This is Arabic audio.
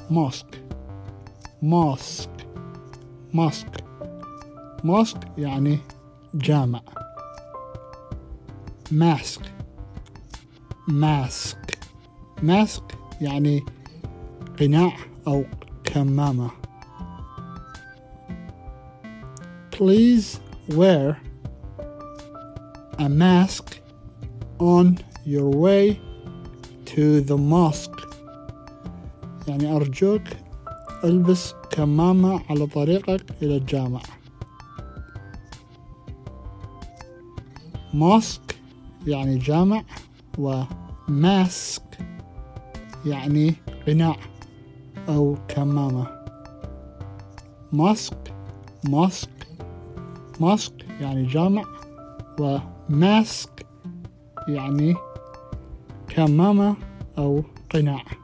mosque mosque mosque mosque يعني جامع. mask mask mask يعني قناع أو كمامة. Please wear a mask on your way to the mosque. يعني أرجوك البس كمامة على طريقك إلى الجامع. mosque يعني جامع، وماسك يعني قناع أو كمامة. mosque mosque mosque يعني جامع، وماسك يعني كمامة أو قناع.